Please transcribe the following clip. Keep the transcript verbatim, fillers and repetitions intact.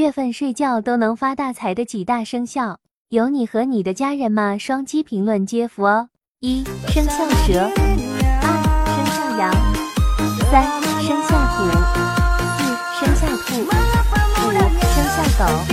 月份睡觉都能发大财的几大生肖，有你和你的家人吗？双击评论接福哦。一、生肖蛇；二、生肖羊；三、生肖虎；四、生肖兔；五、生肖狗。